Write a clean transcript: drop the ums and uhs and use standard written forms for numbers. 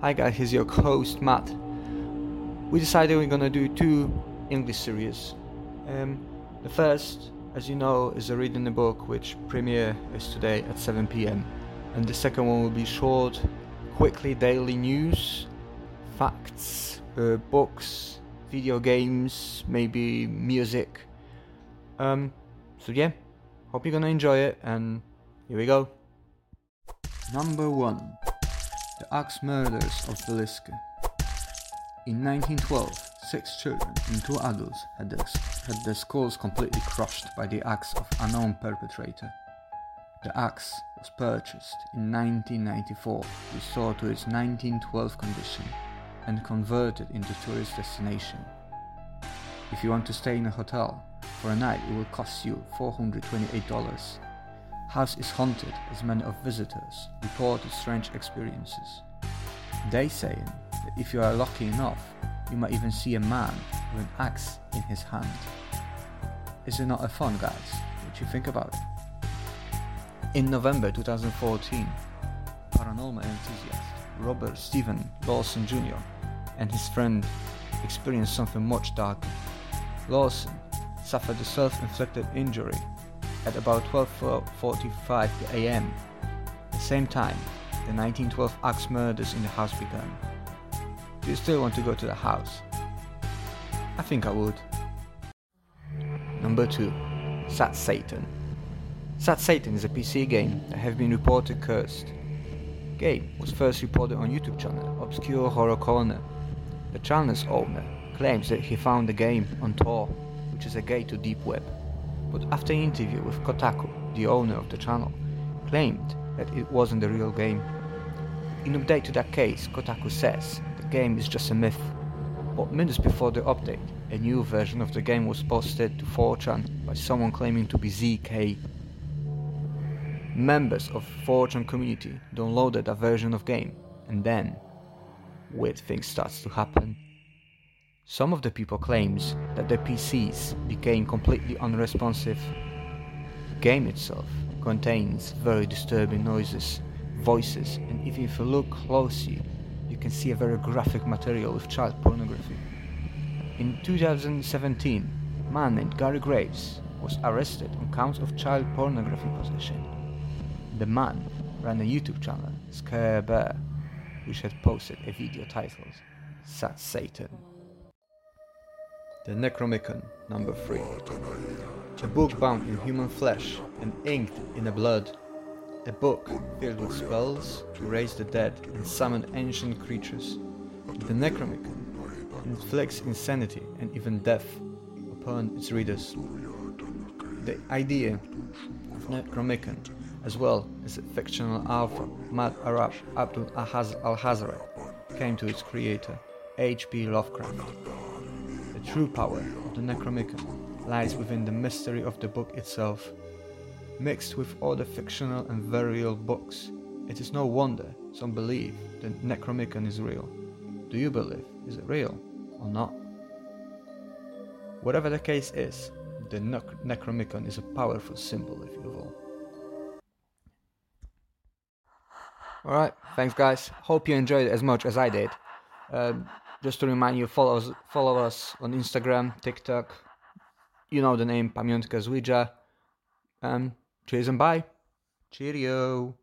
Hi guys, here's your host Matt. We decided we're gonna do 2 English series. The first, as you know, is a reading the book, which premiere is today at 7 p.m. And the second one will be short, quickly daily news, facts, books, video games, maybe music. So yeah, hope you're gonna enjoy it, and here we go. Number 1. The Axe Murders of Villisca. In 1912, 6 children and 2 adults had their skulls completely crushed by the axe of unknown perpetrator. The axe was purchased in 1994, restored to its 1912 condition, and converted into tourist destination. If you want to stay in a hotel for a night, it will cost you $428. House is haunted as many of visitors reported strange experiences. They say that if you are lucky enough, you might even see a man with an axe in his hand. Is it not a fun, guys? What do you think about it? In November 2014, paranormal enthusiast Robert Stephen Lawson Jr. and his friend experienced something much darker. Lawson suffered a self-inflicted injury at about 12:45 a.m. The same time, the 1912 axe murders in the house began. Do you still want to go to the house? I think I would. Number 2. Sad Satan. Sad Satan is a PC game that has been reported cursed. Game was first reported on YouTube channel Obscure Horror Corner. The channel's owner claims that he found the game on Tor, which is a gate to deep web. But after an interview with Kotaku, the owner of the channel claimed that it wasn't the real game. In update to that case, Kotaku says the game is just a myth. But minutes before the update, a new version of the game was posted to 4chan by someone claiming to be ZK. Members of 4chan community downloaded a version of game, and then weird things starts to happen. Some of the people claims that their PCs became completely unresponsive. The game itself contains very disturbing noises, voices, and even if you look closely, you can see a very graphic material with child pornography. In 2017, a man named Gary Graves was arrested on counts of child pornography possession. The man ran a YouTube channel, Scare Bear, which had posted a video titled Sad Satan. The Necronomicon, number 3. A book bound in human flesh and inked in a blood. A book filled with spells to raise the dead and summon ancient creatures. The Necronomicon inflicts insanity and even death upon its readers. The idea of Necronomicon, as well as the fictional author Mad Arab Abdul Al-Hazari, came to its creator, H.P. Lovecraft. The true power of the Necronomicon lies within the mystery of the book itself. Mixed with other fictional and very real books, it is no wonder some believe the Necronomicon is real. Do you believe? Is it real or not? Whatever the case is, the Necronomicon is a powerful symbol, if you will. Alright, thanks guys. Hope you enjoyed it as much as I did. Just to remind you, follow us on Instagram, TikTok. You know the name, Pamiątka z Ouija. Cheers and bye. Cheerio.